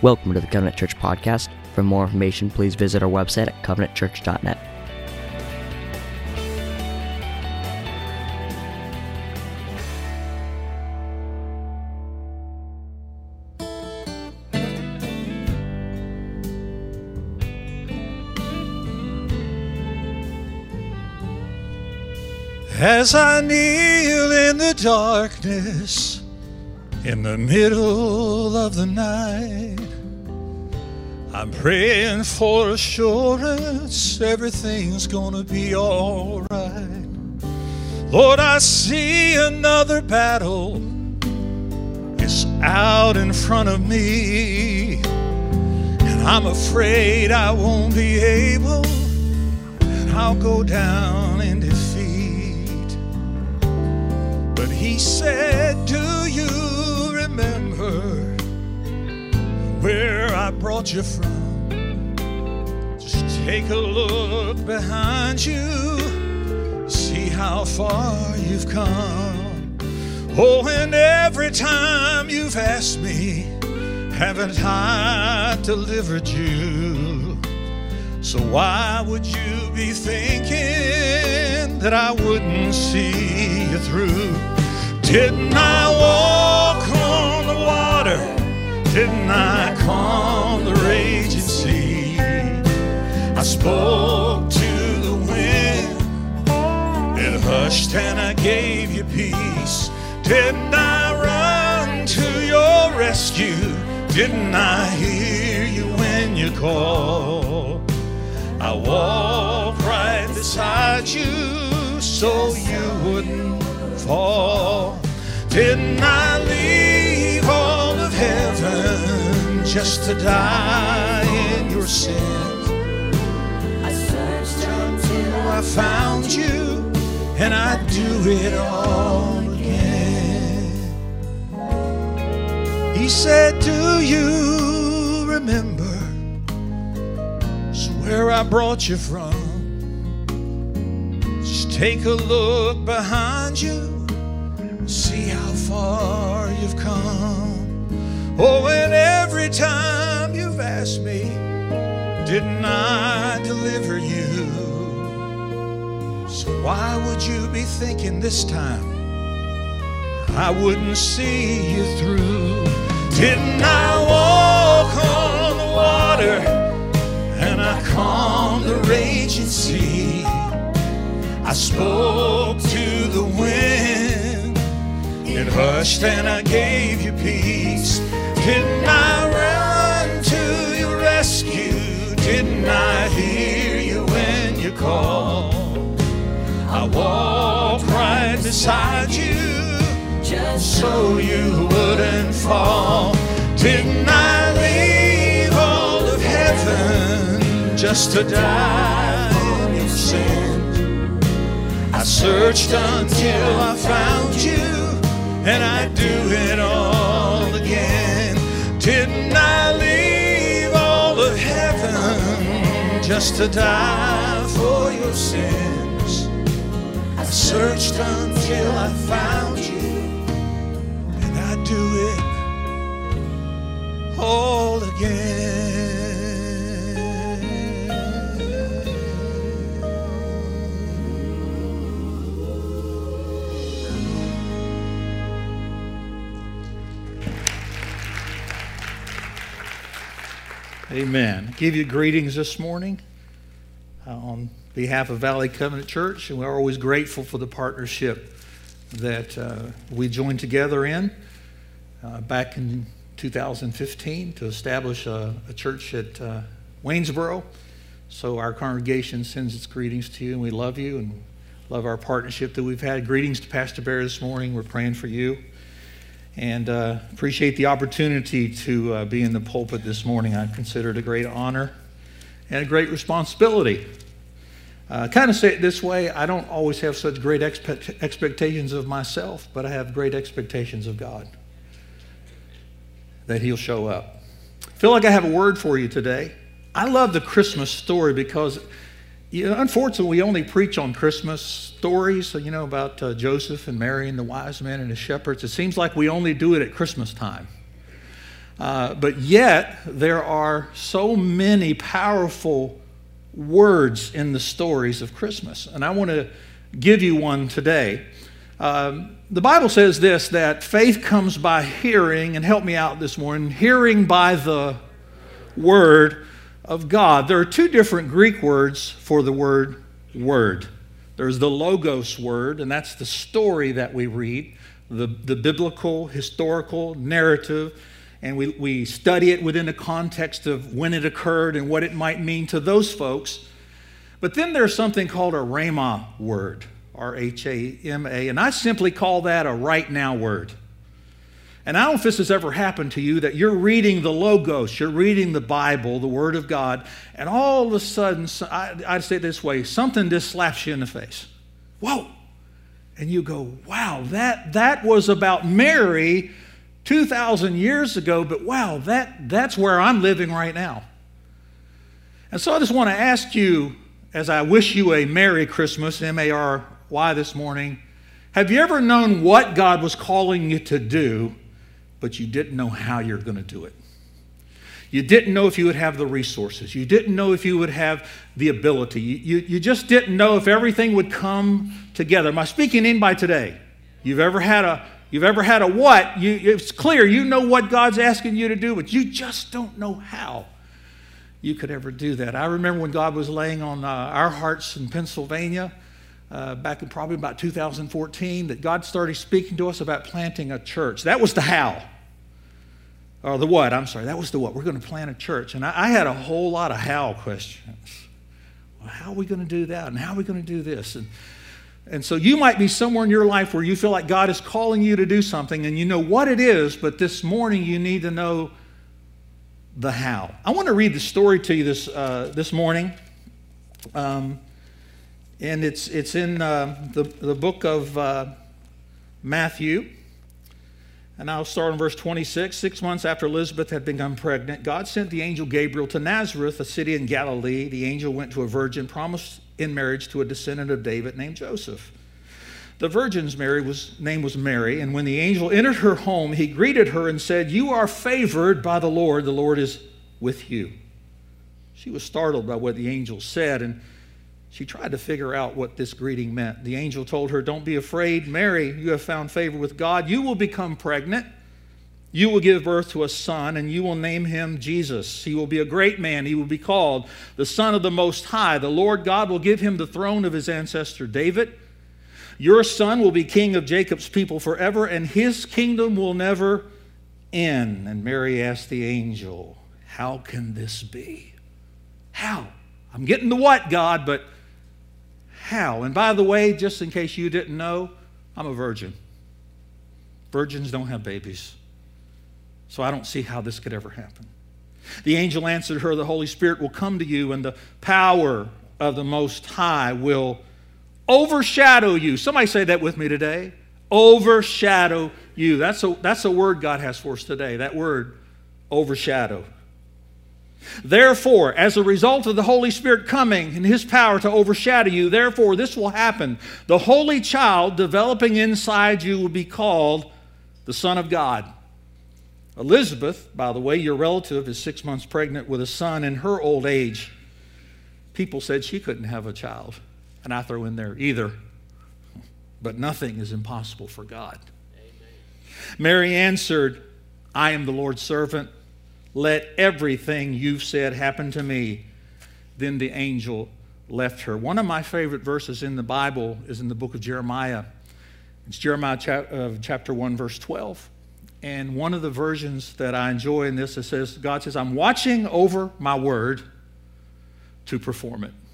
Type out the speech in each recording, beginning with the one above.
Welcome to the Covenant Church Podcast. For more information, please visit our website at covenantchurch.net. As I kneel in the darkness, in the middle of the night, I'm praying for assurance everything's gonna be all right. Lord, I see another battle is out in front of me, and I'm afraid I won't be able, and I'll go down in defeat. But he said, do you remember where I brought you from? Just take a look behind you, see how far you've come. Oh, and every time you've asked me, haven't I delivered you? So why would you be thinking that I wouldn't see you through? Didn't I walk on the water? Didn't I calm the raging sea? I spoke to the wind, it hushed and I gave you peace. Didn't I run to your rescue? Didn't I hear you when you called? I walked right beside you so you wouldn't fall. Didn't I leave all of heaven just to die in your sins? I searched until I found you, and I'd do it all again. He said, do you remember where I brought you from? Just take a look behind you, see how far you've come. Oh, and every time you've asked me, didn't I deliver you? So why would you be thinking this time I wouldn't see you through? Didn't I walk on the water and I calmed the raging sea? I spoke to the wind, it hushed and I gave you peace. Didn't I run to your rescue? Didn't I hear you when you called? I walked right beside you just so you wouldn't fall. Didn't I leave all of heaven just to die in your sins? I searched until I found you, and I'd do it all again. Didn't I leave all of heaven just to die for your sins? I searched until I found you, and I'd do it all again. Amen. I give you greetings this morning on behalf of Valley Covenant Church, and we're always grateful for the partnership that we joined together in back in 2015 to establish a church at Waynesboro. So our congregation sends its greetings to you, and we love you and love our partnership that we've had. Greetings to Pastor Bear this morning. We're praying for you. And appreciate the opportunity to be in the pulpit this morning. I consider it a great honor and a great responsibility. Kind of say it this way, I don't always have such great expectations of myself, but I have great expectations of God, that He'll show up. I feel like I have a word for you today. I love the Christmas story because unfortunately, we only preach on Christmas stories, about Joseph and Mary and the wise men and the shepherds. It seems like we only do it at Christmas time. But yet, there are so many powerful words in the stories of Christmas. And I want to give you one today. The Bible says this, that faith comes by hearing, and help me out this morning, hearing by the Word of God. There are two different Greek words for the word word. There's the logos word, and that's the story that we read, the biblical, historical narrative, and we study it within the context of when it occurred and what it might mean to those folks. But then there's something called a rhema word, R-H-A-M-A, and I simply call that a right now word. And I don't know if this has ever happened to you, that you're reading the Logos, you're reading the Bible, the Word of God, and all of a sudden, I'd say it this way, something just slaps you in the face. Whoa! And you go, wow, that was about Mary 2,000 years ago, but wow, that's where I'm living right now. And so I just want to ask you, as I wish you a Merry Christmas, M-A-R-Y this morning, have you ever known what God was calling you to do, but you didn't know how you're going to do it? You didn't know if you would have the resources. You didn't know if you would have the ability. You just didn't know if everything would come together. Am I speaking in by today? You've ever had a what? It's clear you know what God's asking you to do, but you just don't know how you could ever do that. I remember when God was laying on our hearts in Pennsylvania, back in probably about 2014, that God started speaking to us about planting a church. That was the how. Or the what, I'm sorry. That was the what. We're going to plant a church. And I had a whole lot of how questions. Well, how are we going to do that? And how are we going to do this? And so you might be somewhere in your life where you feel like God is calling you to do something and you know what it is, but this morning you need to know the how. I want to read the story to you this morning. And it's in the book of Matthew. And I'll start in verse 26. 6 months after Elizabeth had become pregnant, God sent the angel Gabriel to Nazareth, a city in Galilee. The angel went to a virgin promised in marriage to a descendant of David named Joseph. The virgin's name was Mary, and when the angel entered her home, he greeted her and said, "You are favored by the Lord is with you." She was startled by what the angel said, and she tried to figure out what this greeting meant. The angel told her, "Don't be afraid, Mary, you have found favor with God. You will become pregnant. You will give birth to a son, and you will name him Jesus. He will be a great man. He will be called the Son of the Most High. The Lord God will give him the throne of his ancestor David. Your son will be king of Jacob's people forever, and his kingdom will never end." And Mary asked the angel, "How can this be?" How? I'm getting the what, God, but how? And by the way, just in case you didn't know, I'm a virgin. Virgins don't have babies. So I don't see how this could ever happen. The angel answered her, "The Holy Spirit will come to you, and the power of the Most High will overshadow you." Somebody say that with me today. Overshadow you. That's a word God has for us today. That word, overshadow. "Therefore, as a result of the Holy Spirit coming and his power to overshadow you, therefore this will happen. The Holy Child developing inside you will be called the Son of God." Elizabeth, by the way, your relative, is 6 months pregnant with a son in her old age. People said she couldn't have a child. And I throw in there either. But nothing is impossible for God. Amen. Mary answered, "I am the Lord's servant. Let everything you've said happen to me." Then the angel left her. One of my favorite verses in the Bible is in the book of Jeremiah. It's Jeremiah chapter 1, verse 12. And one of the versions that I enjoy in this, it says, God says, "I'm watching over my word to perform it."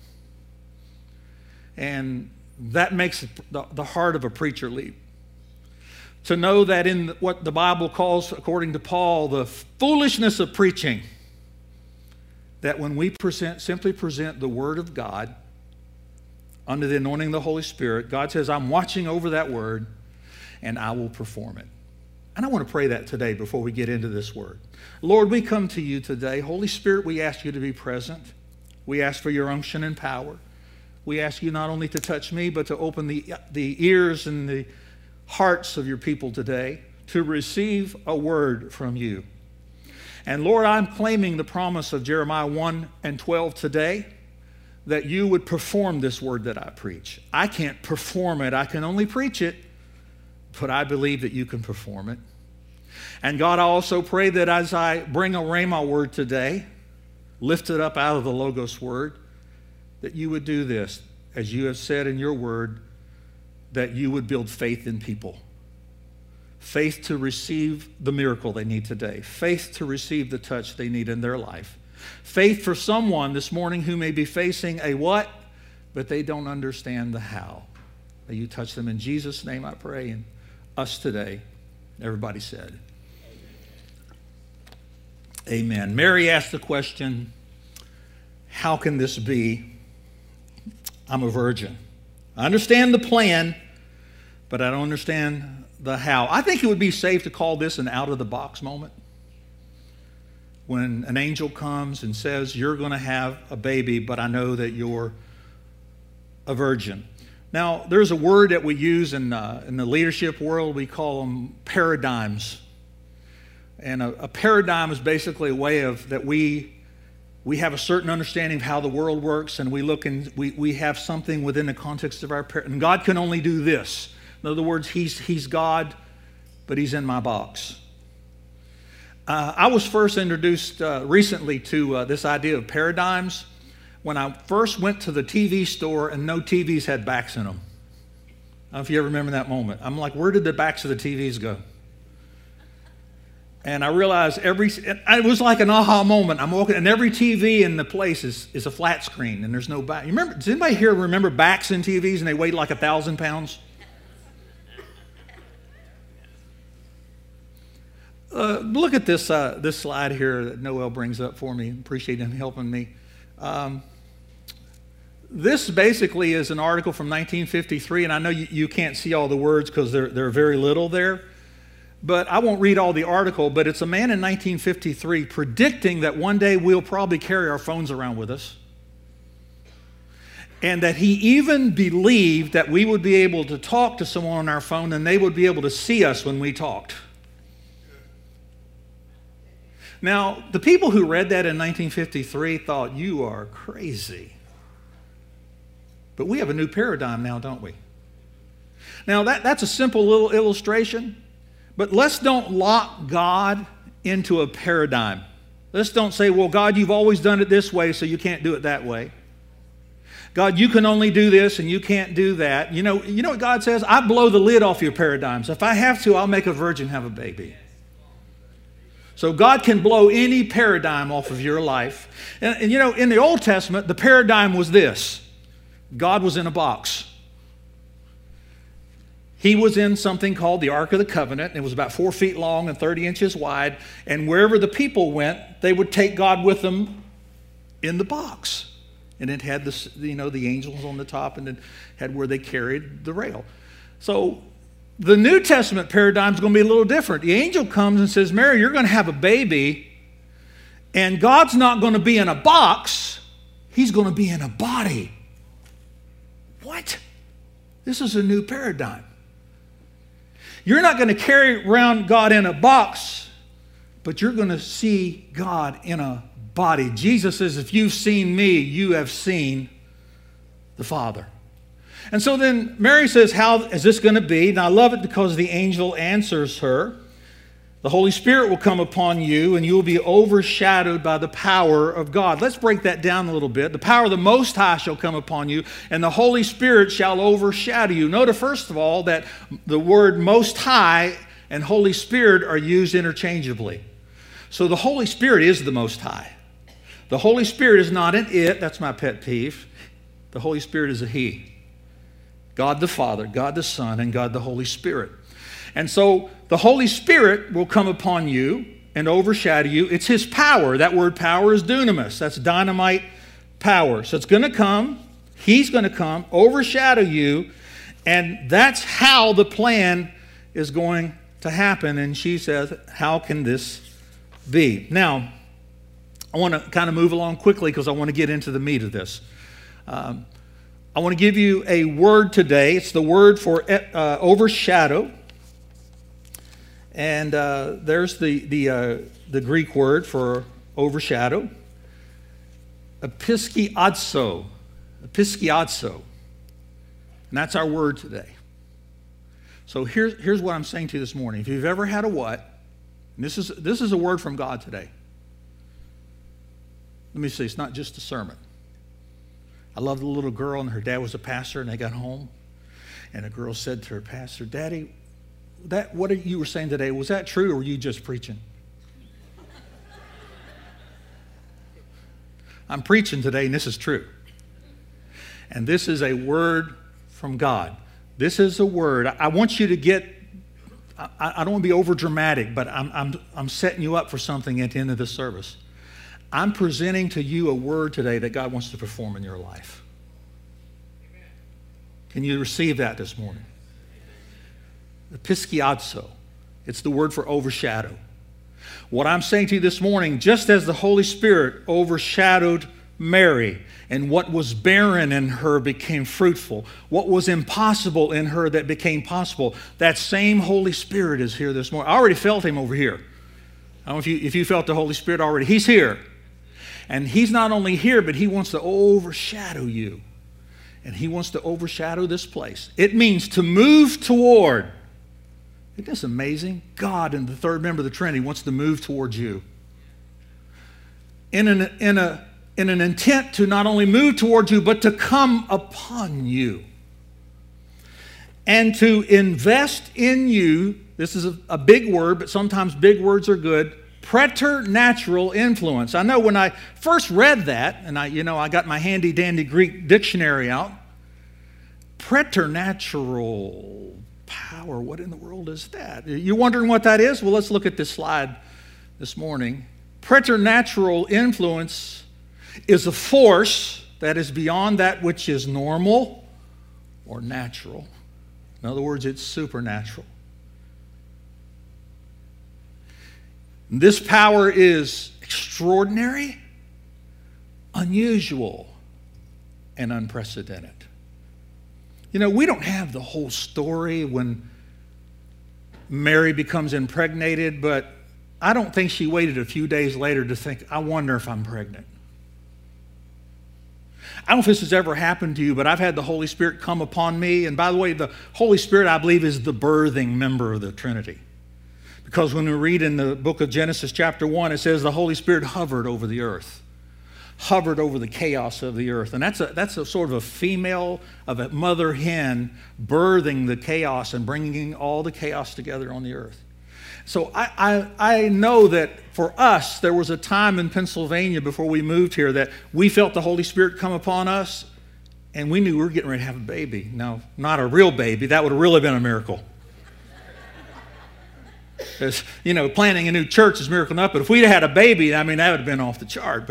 And that makes the heart of a preacher leap. To know that in what the Bible calls, according to Paul, the foolishness of preaching, that when we simply present the Word of God under the anointing of the Holy Spirit, God says, "I'm watching over that Word, and I will perform it." And I want to pray that today before we get into this Word. Lord, we come to you today. Holy Spirit, we ask you to be present. We ask for your unction and power. We ask you not only to touch me, but to open the ears and the hearts of your people today to receive a word from you. And Lord, I'm claiming the promise of Jeremiah 1:12 today, that you would perform this word that I preach. I can't perform it. I can only preach it, but I believe that you can perform it. And God, I also pray that as I bring a Rhema word today, lift it up out of the Logos word, that you would do this, as you have said in your word, that you would build faith in people. Faith to receive the miracle they need today. Faith to receive the touch they need in their life. Faith for someone this morning who may be facing a what, but they don't understand the how. May you touch them in Jesus' name, I pray, and us today. Everybody said, amen. Mary asked the question, how can this be? I'm a virgin. I understand the plan, but I don't understand the how. I think it would be safe to call this an out-of-the-box moment. When an angel comes and says, you're going to have a baby, but I know that you're a virgin. Now, there's a word that we use in the leadership world. We call them paradigms. And a paradigm is basically a way of that we have a certain understanding of how the world works, and we look and we have something within the context of our and God can only do this. In other words, he's God, but he's in my box. I was first introduced recently to this idea of paradigms when I first went to the TV store and no TVs had backs in them. I don't know if you ever remember that moment. I'm like, where did the backs of the TVs go? And I realized it was like an aha moment. I'm walking, and every TV in the place is a flat screen, and there's no back. You remember? Does anybody here remember backs in TVs and they weighed like 1,000 pounds? Look at this slide here that Noel brings up for me. Appreciate him helping me. This basically is an article from 1953, and I know you can't see all the words because there are very little there. But I won't read all the article, but it's a man in 1953 predicting that one day we'll probably carry our phones around with us. And that he even believed that we would be able to talk to someone on our phone and they would be able to see us when we talked. Now, the people who read that in 1953 thought, you are crazy. But we have a new paradigm now, don't we? Now, that's a simple little illustration, but let's don't lock God into a paradigm. Let's don't say, well, God, you've always done it this way, so you can't do it that way. God, you can only do this and you can't do that. You know what God says? I blow the lid off your paradigms. If I have to, I'll make a virgin have a baby. So God can blow any paradigm off of your life. And in the Old Testament, the paradigm was this. God was in a box. He was in something called the Ark of the Covenant. It was about 4 feet long and 30 inches wide. And wherever the people went, they would take God with them in the box. And it had the angels on the top, and it had where they carried the rail. So the New Testament paradigm is going to be a little different. The angel comes and says, Mary, you're going to have a baby, and God's not going to be in a box. He's going to be in a body. What? This is a new paradigm. You're not going to carry around God in a box, but you're going to see God in a body. Jesus says, if you've seen me, you have seen the Father. And so then Mary says, how is this going to be? And I love it because the angel answers her. The Holy Spirit will come upon you, and you will be overshadowed by the power of God. Let's break that down a little bit. The power of the Most High shall come upon you, and the Holy Spirit shall overshadow you. Notice, first of all, that the word Most High and Holy Spirit are used interchangeably. So the Holy Spirit is the Most High. The Holy Spirit is not an it. That's my pet peeve. The Holy Spirit is a He. God the Father, God the Son, and God the Holy Spirit. And so the Holy Spirit will come upon you and overshadow you. It's His power. That word power is dunamis. That's dynamite power. So it's going to come. He's going to come, overshadow you, and that's how the plan is going to happen. And she says, how can this be? Now, I want to kind of move along quickly because I want to get into the meat of this. I want to give you a word today. It's the word for overshadow. And there's the the Greek word for overshadow, episkiazo. Episkiazo. And that's our word today. So here's what I'm saying to you this morning. If you've ever had a what, and this is a word from God today. Let me see, it's not just a sermon. I love the little girl, and her dad was a pastor, and they got home. And a girl said to her pastor, "Daddy, what you were saying today, was that true, or were you just preaching?" I'm preaching today, and this is true. And this is a word from God. This is a word. I want you to get, I don't want to be over dramatic, but I'm setting you up for something at the end of this service. I'm presenting to you a word today that God wants to perform in your life. Can you receive that this morning? Episkiazo. It's the word for overshadow. What I'm saying to you this morning, just as the Holy Spirit overshadowed Mary, and what was barren in her became fruitful, what was impossible in her that became possible, that same Holy Spirit is here this morning. I already felt him over here. I don't know if you felt the Holy Spirit already. He's here. And he's not only here, but he wants to overshadow you. And he wants to overshadow this place. It means to move toward. Isn't this amazing? God, and the third member of the Trinity, wants to move towards you. In an intent to not only move towards you, but to come upon you. And to invest in you. This is a big word, but sometimes big words are good. Preternatural influence. I know when I first read that, and I got my handy dandy Greek dictionary out. Preternatural power. What in the world is that? You wondering what that is? Well, let's look at this slide this morning. Preternatural influence is a force that is beyond that which is normal or natural. In other words, it's supernatural. This power is extraordinary, unusual, and unprecedented. We don't have the whole story when Mary becomes impregnated, but I don't think she waited a few days later to think, I wonder if I'm pregnant. I don't know if this has ever happened to you, but I've had the Holy Spirit come upon me. And by the way, the Holy Spirit, I believe, is the birthing member of the Trinity. Because when we read in the book of Genesis chapter 1, it says the Holy Spirit hovered over the earth, hovered over the chaos of the earth. And that's a sort of a female of a mother hen birthing the chaos and bringing all the chaos together on the earth. So I know that for us, there was a time in Pennsylvania before we moved here that we felt the Holy Spirit come upon us, and we knew we were getting ready to have a baby. Now, not a real baby. That would have really been a miracle. Because, planning a new church is miracle enough, but if we'd had a baby, that would have been off the chart.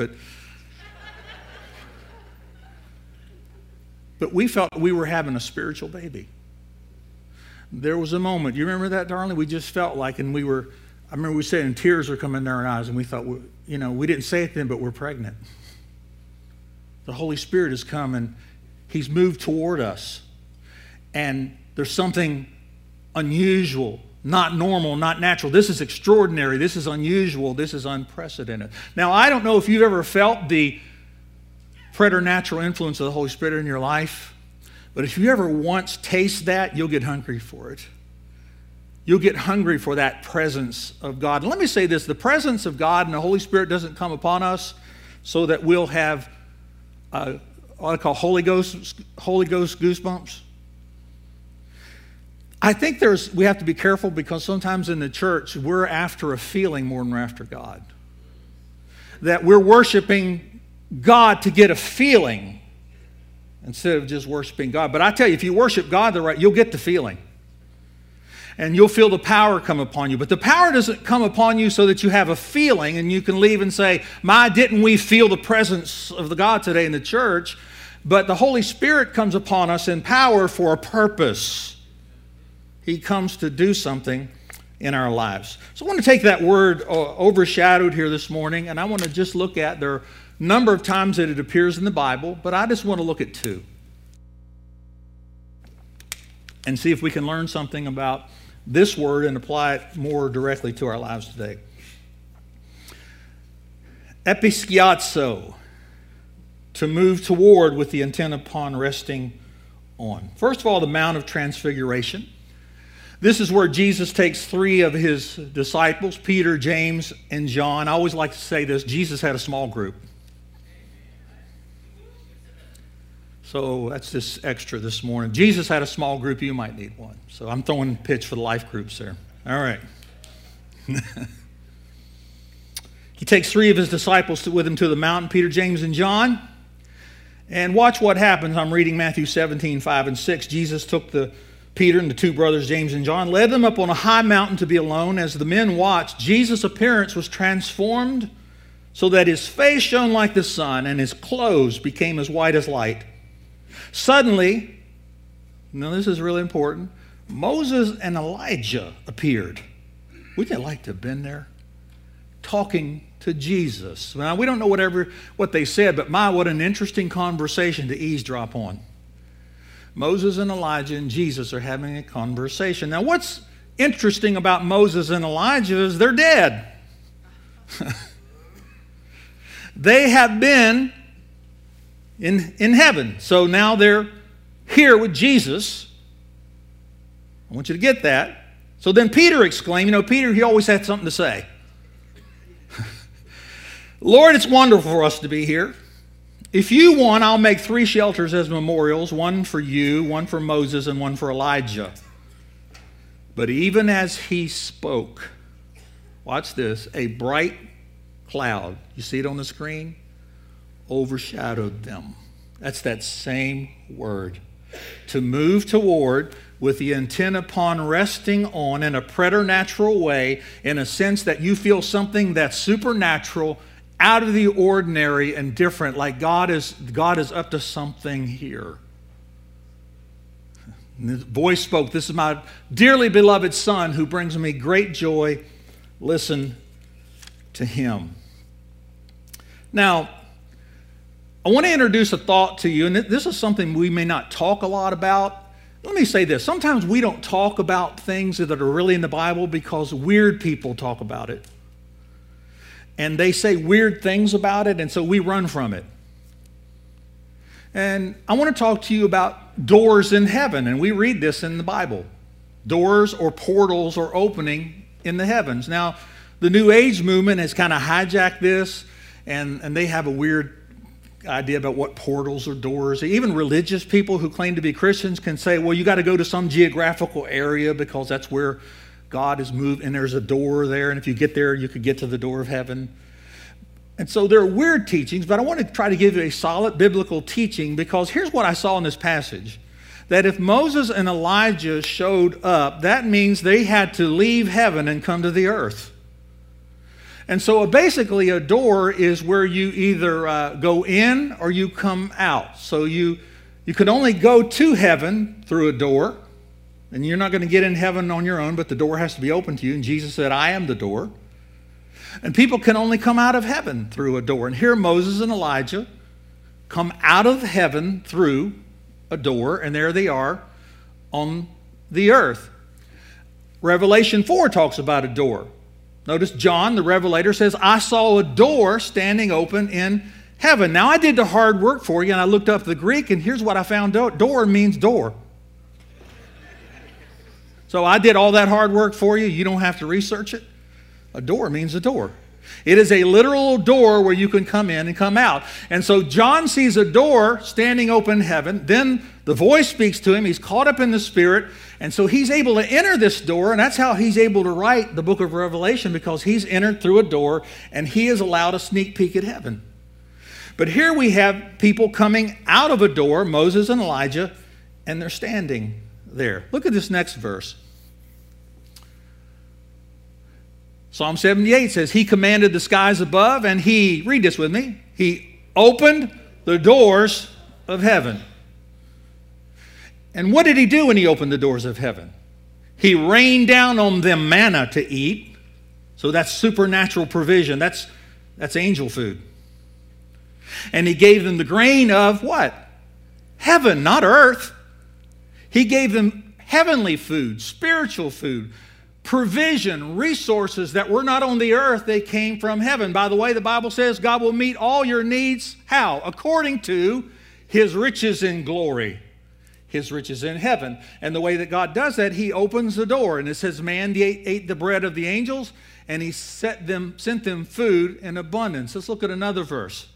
But we felt we were having a spiritual baby. There was a moment, you remember that, darling? We just felt like, and I remember we said, and tears were coming in our eyes, and we thought, we didn't say it then, but we're pregnant. The Holy Spirit has come, and he's moved toward us. And there's something unusual, not normal, not natural. This is extraordinary. This is unusual. This is unprecedented. Now, I don't know if you've ever felt the preternatural influence of the Holy Spirit in your life, but if you ever once taste that, you'll get hungry for it. You'll get hungry for that presence of God. And let me say this, the presence of God and the Holy Spirit doesn't come upon us so that we'll have what I call Holy Ghost goosebumps. I think we have to be careful because sometimes in the church, we're after a feeling more than we're after God. That we're worshiping God to get a feeling instead of just worshiping God. But I tell you, if you worship God you'll get the feeling. And you'll feel the power come upon you. But the power doesn't come upon you so that you have a feeling and you can leave and say, didn't we feel the presence of the God today in the church? But the Holy Spirit comes upon us in power for a purpose. He comes to do something in our lives. So I want to take that word overshadowed here this morning, and I want to just look at, there are a number of times that it appears in the Bible, but I just want to look at two and see if we can learn something about this word and apply it more directly to our lives today. Episkiazo, to move toward with the intent upon resting on. First of all, the Mount of Transfiguration. This is where Jesus takes three of his disciples, Peter, James, and John. I always like to say this, Jesus had a small group. So that's just extra this morning. Jesus had a small group, you might need one. So I'm throwing a pitch for the life groups there. All right. He takes three of his disciples with him to the mountain, Peter, James, and John. And watch what happens. I'm reading Matthew 17, 5 and 6. Jesus took Peter and the two brothers, James and John, led them up on a high mountain to be alone. As the men watched, Jesus' appearance was transformed so that his face shone like the sun and his clothes became as white as light. Suddenly, now this is really important, Moses and Elijah appeared. Wouldn't you like to have been there? Talking to Jesus. Now, we don't know what they said, but what an interesting conversation to eavesdrop on. Moses and Elijah and Jesus are having a conversation. Now, what's interesting about Moses and Elijah is they're dead. They have been in heaven. So now they're here with Jesus. I want you to get that. So then Peter exclaimed, Peter, he always had something to say. Lord, it's wonderful for us to be here. If you want, I'll make 3 shelters as memorials, one for you, one for Moses, and one for Elijah. But even as he spoke, watch this, a bright cloud, you see it on the screen, overshadowed them. That's that same word. To move toward with the intent upon resting on in a preternatural way, in a sense that you feel something that's supernatural, out of the ordinary and different, like God is up to something here. And the voice spoke, this is my dearly beloved Son who brings me great joy. Listen to him. Now, I want to introduce a thought to you, and this is something we may not talk a lot about. Let me say this. Sometimes we don't talk about things that are really in the Bible because weird people talk about it. And they say weird things about it, and so we run from it. And I want to talk to you about doors in heaven, and we read this in the Bible. Doors or portals are opening in the heavens. Now, the New Age movement has kind of hijacked this, and they have a weird idea about what portals or doors. Even religious people who claim to be Christians can say, well, you got to go to some geographical area because that's where God has moved, and there's a door there, and if you get there, you could get to the door of heaven. And so there are weird teachings, but I want to try to give you a solid biblical teaching, because here's what I saw in this passage. That if Moses and Elijah showed up, that means they had to leave heaven and come to the earth. And so basically a door is where you either go in or you come out. So you can only go to heaven through a door. And you're not going to get in heaven on your own, but the door has to be open to you. And Jesus said, I am the door. And people can only come out of heaven through a door. And here Moses and Elijah come out of heaven through a door, and there they are on the earth. Revelation 4 talks about a door. Notice John, the Revelator, says, I saw a door standing open in heaven. Now I did the hard work for you, and I looked up the Greek, and here's what I found. Door means door. So I did all that hard work for you. You don't have to research it. A door means a door. It is a literal door where you can come in and come out. And so John sees a door standing open in heaven. Then the voice speaks to him. He's caught up in the Spirit. And so he's able to enter this door. And that's how he's able to write the book of Revelation, because he's entered through a door and he is allowed a sneak peek at heaven. But here we have people coming out of a door, Moses and Elijah, and they're standing there. Look at this next verse. Psalm 78 says, he commanded the skies above, and he, read this with me, he opened the doors of heaven. And what did he do when he opened the doors of heaven? He rained down on them manna to eat. So that's supernatural provision. That's angel food. And he gave them the grain of what? Heaven, not earth. He gave them heavenly food, spiritual food, provision, resources that were not on the earth, they came from heaven. By the way, the Bible says God will meet all your needs. How? According to His riches in glory. His riches in heaven. And the way that God does that, He opens the door. And it says, man ate the bread of the angels, and He sent them food in abundance. Let's look at another verse.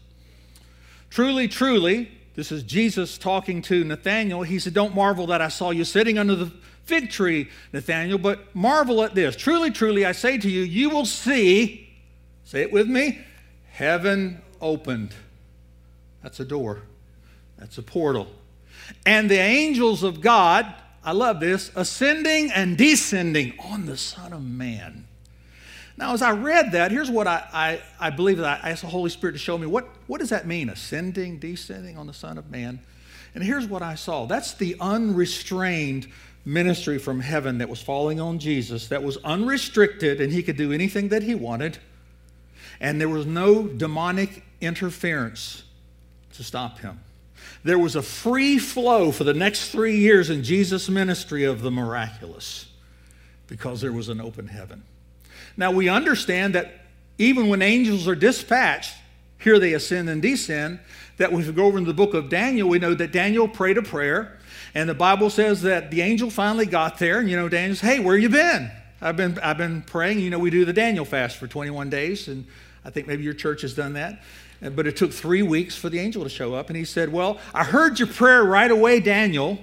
Truly, truly, this is Jesus talking to Nathanael. He said, don't marvel that I saw you sitting under the fig tree, Nathanael, but marvel at this. Truly, truly, I say to you, you will see, say it with me, heaven opened. That's a door. That's a portal. And the angels of God, I love this, ascending and descending on the Son of Man. Now, as I read that, here's what I believe that I asked the Holy Spirit to show me. What does that mean, ascending, descending on the Son of Man? And here's what I saw. That's the unrestrained ministry from heaven that was falling on Jesus, that was unrestricted, and He could do anything that He wanted. And there was no demonic interference to stop Him. There was a free flow for the next 3 years in Jesus' ministry of the miraculous because there was an open heaven. Now, we understand that even when angels are dispatched, here they ascend and descend, that if we go over in the book of Daniel, we know that Daniel prayed a prayer, and the Bible says that the angel finally got there, and Daniel says, hey, where you been? I've been praying. We do the Daniel fast for 21 days, and I think maybe your church has done that. But it took 3 weeks for the angel to show up, and he said, well, I heard your prayer right away, Daniel,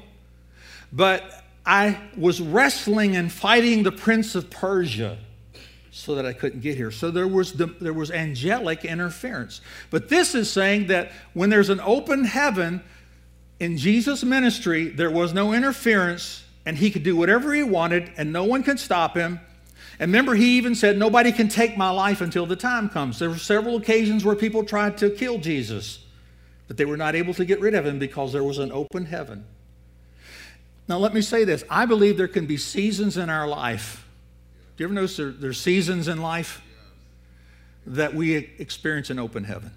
but I was wrestling and fighting the prince of Persia so that I couldn't get here. So there was angelic interference. But this is saying that when there's an open heaven in Jesus' ministry, there was no interference, and He could do whatever He wanted, and no one could stop Him. And remember, He even said, nobody can take my life until the time comes. There were several occasions where people tried to kill Jesus, but they were not able to get rid of Him because there was an open heaven. Now, let me say this. I believe there can be seasons in our life. Do you ever notice there's seasons in life that we experience an open heaven?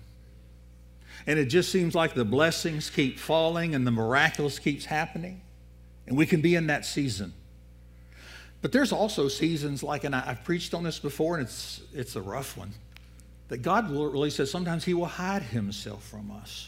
And it just seems like the blessings keep falling and the miraculous keeps happening. And we can be in that season. But there's also seasons like, and I've preached on this before, and it's a rough one, that God really says sometimes He will hide Himself from us.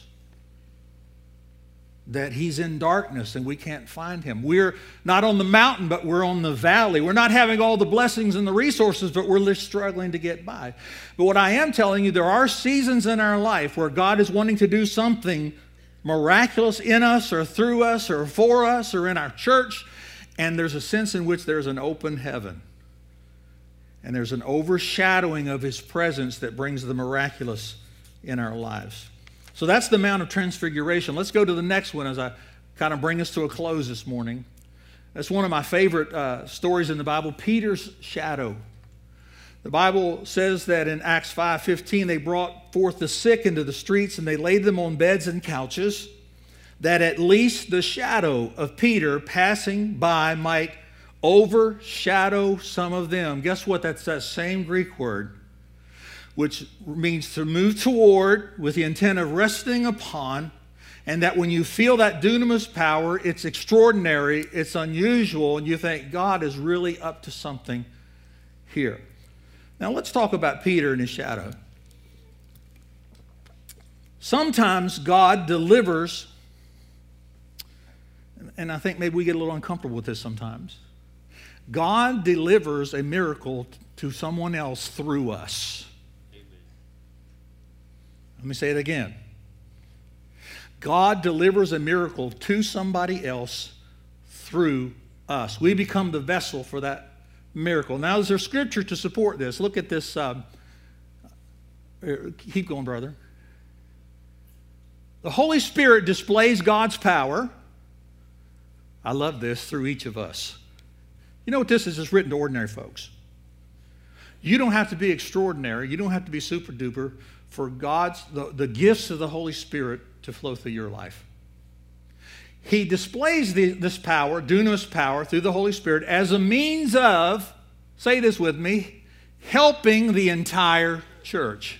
That He's in darkness and we can't find Him. We're not on the mountain, but we're on the valley. We're not having all the blessings and the resources, but we're just struggling to get by. But what I am telling you, there are seasons in our life where God is wanting to do something miraculous in us or through us or for us or in our church. And there's a sense in which there's an open heaven. And there's an overshadowing of His presence that brings the miraculous in our lives. So that's the Mount of Transfiguration. Let's go to the next one as I kind of bring us to a close this morning. That's one of my favorite stories in the Bible, Peter's shadow. The Bible says that in Acts 5:15, they brought forth the sick into the streets and they laid them on beds and couches, that at least the shadow of Peter passing by might overshadow some of them. Guess what? That's that same Greek word, which means to move toward with the intent of resting upon, and that when you feel that dunamis power, it's extraordinary, it's unusual, and you think God is really up to something here. Now let's talk about Peter and his shadow. Sometimes God delivers, and I think maybe we get a little uncomfortable with this sometimes. God delivers a miracle to someone else through us. Let me say it again. God delivers a miracle to somebody else through us. We become the vessel for that miracle. Now, is there scripture to support this? Look at this. Keep going, brother. The Holy Spirit displays God's power. I love this, through each of us. You know what this is? It's written to ordinary folks. You don't have to be extraordinary. You don't have to be super duper for the gifts of the Holy Spirit to flow through your life. He displays this power, dunamis power, through the Holy Spirit as a means of, say this with me, helping the entire church.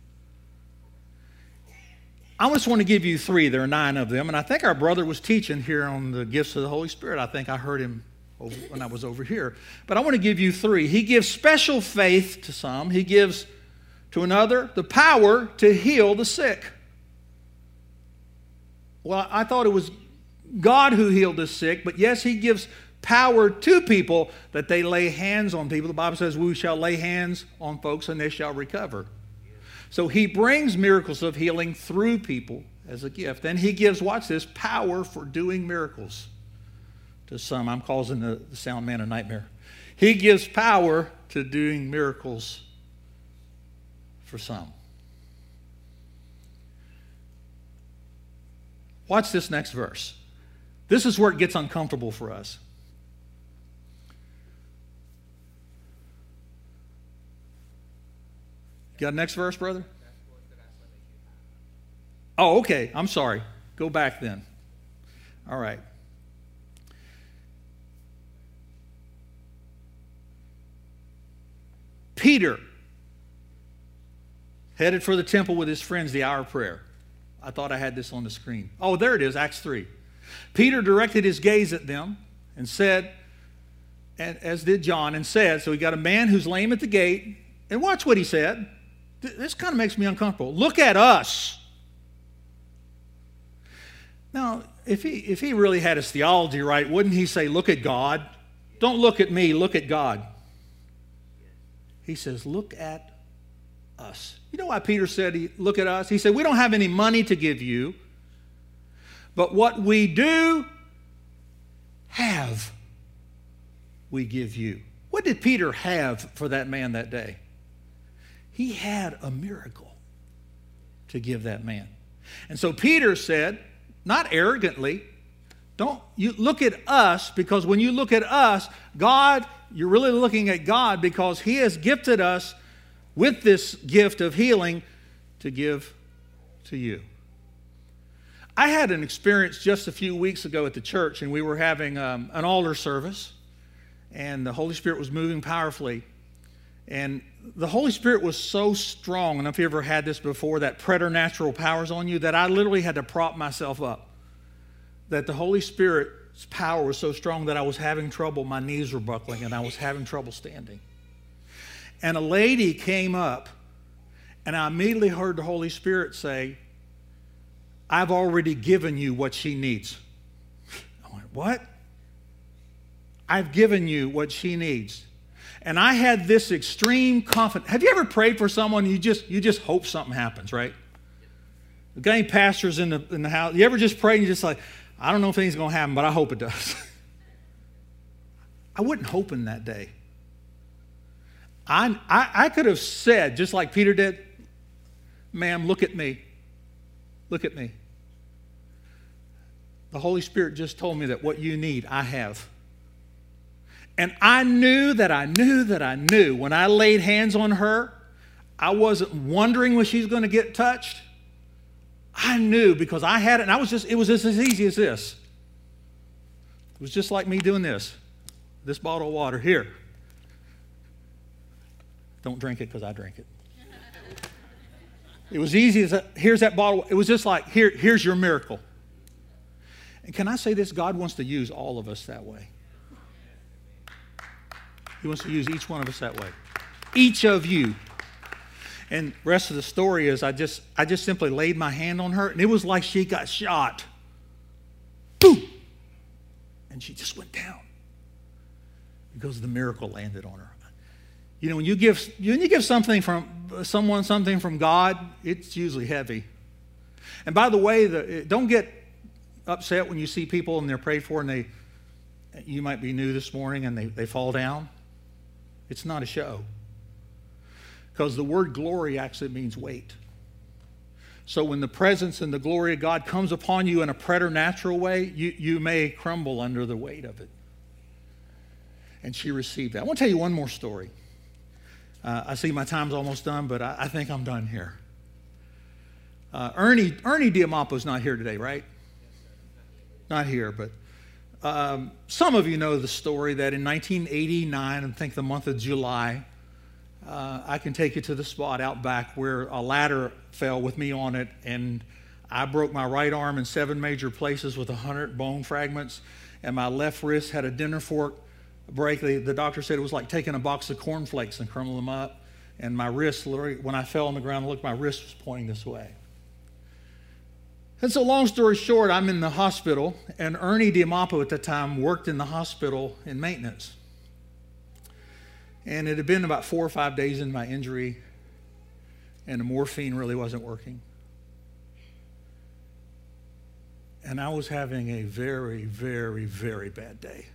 I just want to give you 3. There are 9 of them. And I think our brother was teaching here on the gifts of the Holy Spirit. I think I heard him when I was over here. But I want to give you three. He gives special faith to some. He gives to another the power to heal the sick. Well, I thought it was God who healed the sick, but yes, he gives power to people that they lay hands on people. The Bible says we shall lay hands on folks and they shall recover. So he brings miracles of healing through people as a gift. And he gives, watch this, power for doing miracles to some. I'm causing the sound man a nightmare. He gives power to doing miracles for some. Watch this next verse. This is where it gets uncomfortable for us. Got next verse, brother? Oh, okay. I'm sorry. Go back then. All right. Peter headed for the temple with his friends, the hour of prayer. I thought I had this on the screen. Oh, there it is, Acts 3. Peter directed his gaze at them and said, and as did John, and said, so we got a man who's lame at the gate, and watch what he said. This kind of makes me uncomfortable. Look at us. Now, if he really had his theology right, wouldn't he say, look at God? Don't look at me, look at God. He says, look at us. You know why Peter said, look at us? He said, we don't have any money to give you, but what we do have, we give you. What did Peter have for that man that day? He had a miracle to give that man. And so Peter said, not arrogantly, don't you look at us, because when you look at us, God, you're really looking at God because he has gifted us with this gift of healing to give to you. I had an experience just a few weeks ago at the church, and we were having an altar service, and the Holy Spirit was moving powerfully. And the Holy Spirit was so strong, I don't know if you ever had this before, that preternatural powers on you, that I literally had to prop myself up. That the Holy Spirit's power was so strong that I was having trouble, my knees were buckling, and I was having trouble standing. And a lady came up, and I immediately heard the Holy Spirit say, I've already given you what she needs. I went, what? I've given you what she needs. And I had this extreme confidence. Have you ever prayed for someone you just hope something happens, right? The guy pastors in the house. You ever just pray and you're just like, I don't know if anything's going to happen, but I hope it does. I wasn't hoping that day. I could have said, just like Peter did, ma'am, look at me. Look at me. The Holy Spirit just told me that what you need, I have. And I knew that I knew when I laid hands on her, I wasn't wondering when she's going to get touched. I knew because I had it, and it was just as easy as this. It was just like me doing this bottle of water here. Don't drink it because I drink it. It was easy as here's that bottle. It was just like, here's your miracle. And can I say this? God wants to use all of us that way. He wants to use each one of us that way. Each of you. And the rest of the story is I just simply laid my hand on her, and it was like she got shot. Boom! And she just went down because the miracle landed on her. You know, when you give something from someone, something from God, it's usually heavy. And by the way, don't get upset when you see people and they're prayed for and you might be new this morning and they fall down. It's not a show. Because the word glory actually means weight. So when the presence and the glory of God comes upon you in a preternatural way, you may crumble under the weight of it. And she received that. I want to tell you one more story. I see my time's almost done, but I think I'm done here. Ernie Diamapo's not here today, right? Not here, but some of you know the story that in 1989, I think the month of July, I can take you to the spot out back where a ladder fell with me on it, and I broke my right arm in 7 major places with 100 bone fragments, and my left wrist had a dinner fork break. The doctor said it was like taking a box of cornflakes and crumbling them up. And my wrist, literally, when I fell on the ground and looked, my wrist was pointing this way. And so long story short, I'm in the hospital, and Ernie Diamapo at the time worked in the hospital in maintenance. And it had been about 4 or 5 days in my injury, and the morphine really wasn't working. And I was having a very, very, very bad day.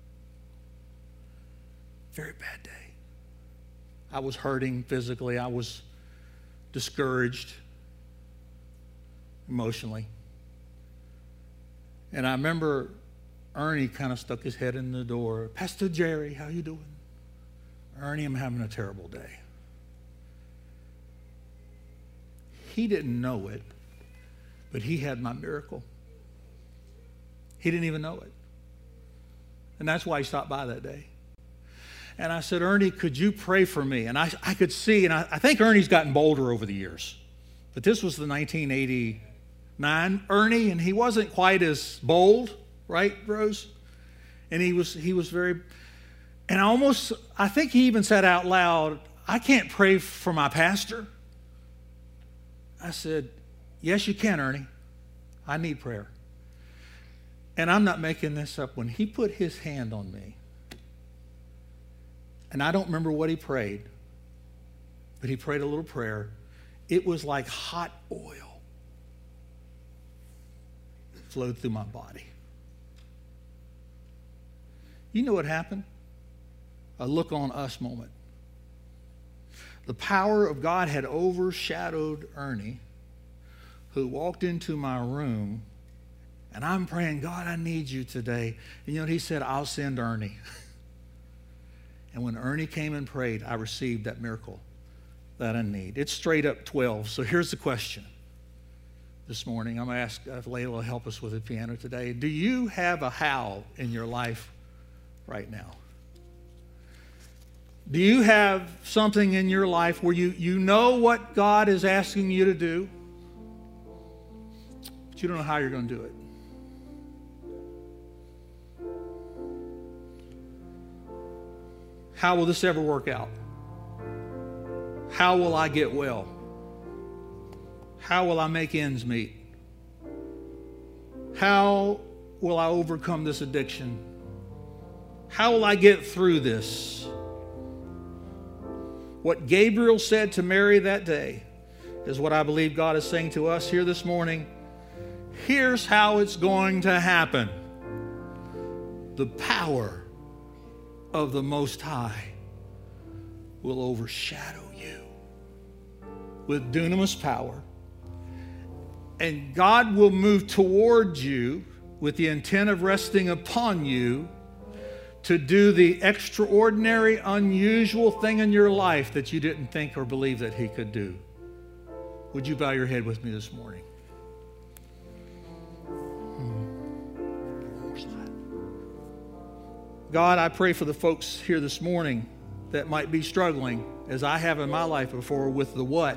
Very bad day. I was hurting physically. I was discouraged emotionally. And I remember Ernie kind of stuck his head in the door. Pastor Jerry, how you doing? Ernie, I'm having a terrible day. He didn't know it, but he had my miracle. He didn't even know it. And that's why he stopped by that day. And I said, Ernie, could you pray for me? And I could see, and I think Ernie's gotten bolder over the years. But this was the 1989 Ernie, and he wasn't quite as bold, right, Rose? And he was very, and I think he even said out loud, I can't pray for my pastor. I said, yes, you can, Ernie. I need prayer. And I'm not making this up. When he put his hand on me, and I don't remember what he prayed, but he prayed a little prayer. It was like hot oil flowed through my body. You know what happened? A look on us moment. The power of God had overshadowed Ernie, who walked into my room, and I'm praying, God, I need you today. And you know what he said? I'll send Ernie. And when Ernie came and prayed, I received that miracle that I need. It's straight up 12. So here's the question this morning. I'm going to ask Layla to help us with the piano today. Do you have a how in your life right now? Do you have something in your life where you know what God is asking you to do, but you don't know how you're going to do it? How will this ever work out? How will I get well? How will I make ends meet? How will I overcome this addiction? How will I get through this? What Gabriel said to Mary that day is what I believe God is saying to us here this morning. Here's how it's going to happen. The power of the Most High will overshadow you with dunamis power. And God will move towards you with the intent of resting upon you to do the extraordinary, unusual thing in your life that you didn't think or believe that He could do. Would you bow your head with me this morning? God, I pray for the folks here this morning that might be struggling, as I have in my life before, with the what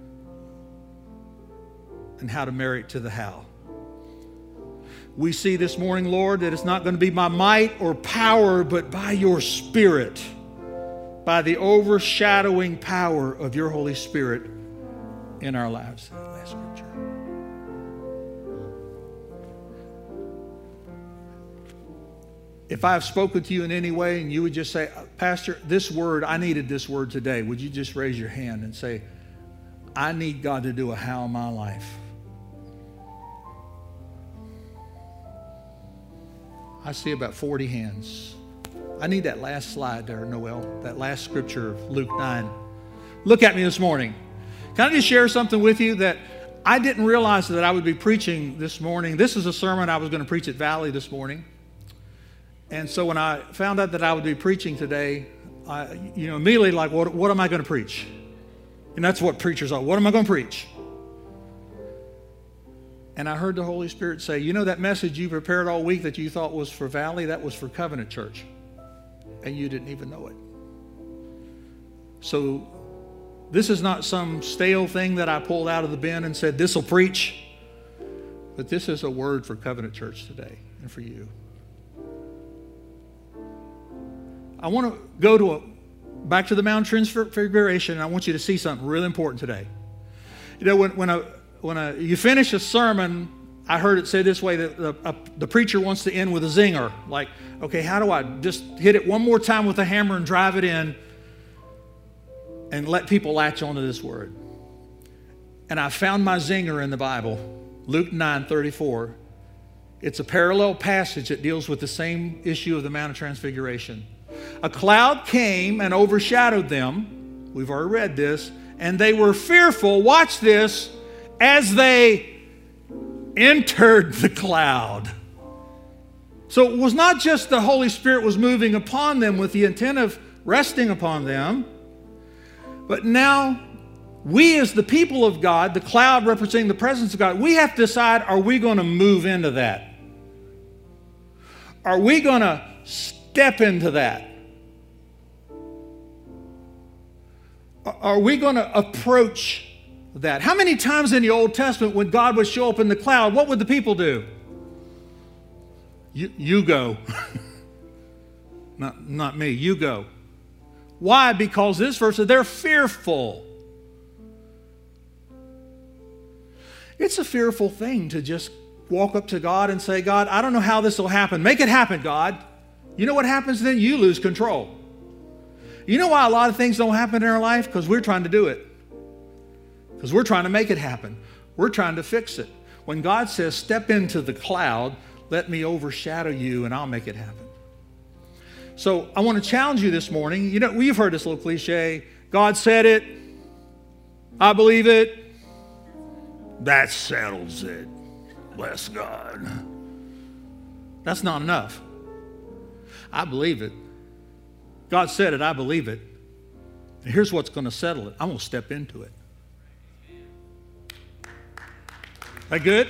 and how to marry it to the how. We see this morning, Lord, that it's not going to be by might or power, but by your Spirit, by the overshadowing power of your Holy Spirit in our lives. Last scripture. If I have spoken to you in any way and you would just say, Pastor, this word, I needed this word today, would you just raise your hand and say, I need God to do a how in my life? I see about 40 hands. I need that last slide there, Noel, that last scripture of Luke 9. Look at me this morning. Can I just share something with you that I didn't realize that I would be preaching this morning? This is a sermon I was going to preach at Valley this morning. And so when I found out that I would be preaching today, I immediately like, what am I going to preach? And that's what preachers are. What am I going to preach? And I heard the Holy Spirit say, you know that message you prepared all week that you thought was for Valley, that was for Covenant Church. And you didn't even know it. So this is not some stale thing that I pulled out of the bin and said, this will preach. But this is a word for Covenant Church today and for you. I want to go back to the Mount Transfiguration, and I want you to see something really important today. You know, when you finish a sermon, I heard it say this way, that the preacher wants to end with a zinger. Like, okay, how do I just hit it one more time with a hammer and drive it in and let people latch onto this word? And I found my zinger in the Bible, Luke 9:34. It's a parallel passage that deals with the same issue of the Mount of Transfiguration. A cloud came and overshadowed them. We've already read this. And they were fearful, watch this, as they entered the cloud. So it was not just the Holy Spirit was moving upon them with the intent of resting upon them, but now we as the people of God, the cloud representing the presence of God, we have to decide, are we going to move into that? Are we going to step into that? Are we going to approach that? How many times in the Old Testament when God would show up in the cloud, what would the people do? You go. Not me, you go. Why? Because this verse says they're fearful. It's a fearful thing to just walk up to God and say, God, I don't know how this will happen. Make it happen, God. You know what happens then? You lose control. You know why a lot of things don't happen in our life? Because we're trying to do it. Because we're trying to make it happen. We're trying to fix it. When God says, step into the cloud, let me overshadow you and I'll make it happen. So I want to challenge you this morning. You know, we've heard this little cliche. God said it. I believe it. That settles it. Bless God. That's not enough. I believe it. God said it. I believe it. And here's what's going to settle it. I'm going to step into it. That good?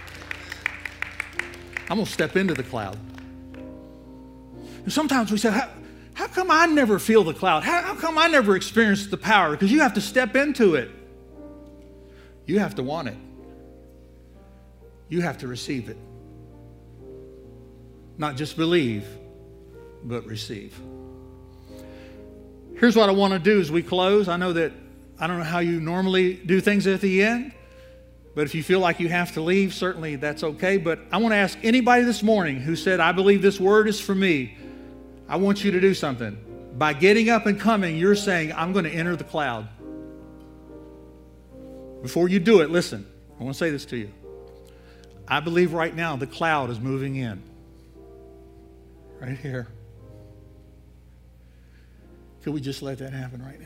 I'm going to step into the cloud. And sometimes we say, how come I never feel the cloud? How come I never experience the power? Because you have to step into it. You have to want it. You have to receive it. Not just believe, but receive. Here's what I want to do as we close. I don't know how you normally do things at the end, but if you feel like you have to leave, certainly that's okay. But I want to ask anybody this morning who said, I believe this word is for me, I want you to do something. By getting up and coming, you're saying, I'm going to enter the cloud. Before you do it, listen, I want to say this to you. I believe right now the cloud is moving in. Right here. Could we just let that happen right now?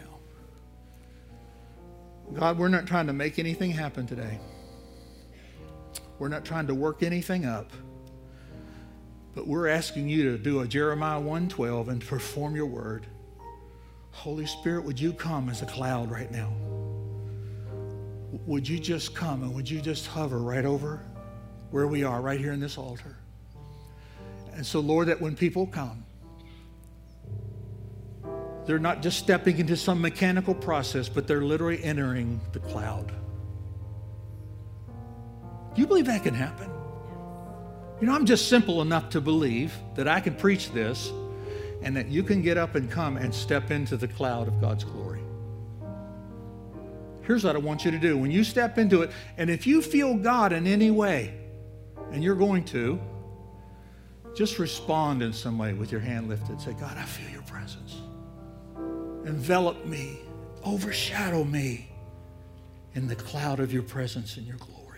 God, we're not trying to make anything happen today. We're not trying to work anything up. But we're asking you to do a Jeremiah 1:12 and perform your word. Holy Spirit, would you come as a cloud right now? Would you just come and would you just hover right over where we are, right here in this altar? And so, Lord, that when people come, they're not just stepping into some mechanical process, but they're literally entering the cloud. Do you believe that can happen? You know, I'm just simple enough to believe that I can preach this and that you can get up and come and step into the cloud of God's glory. Here's what I want you to do. When you step into it, and if you feel God in any way, and you're going to, just respond in some way with your hand lifted. Say, God, I feel your presence. Envelop me, overshadow me in the cloud of your presence and your glory.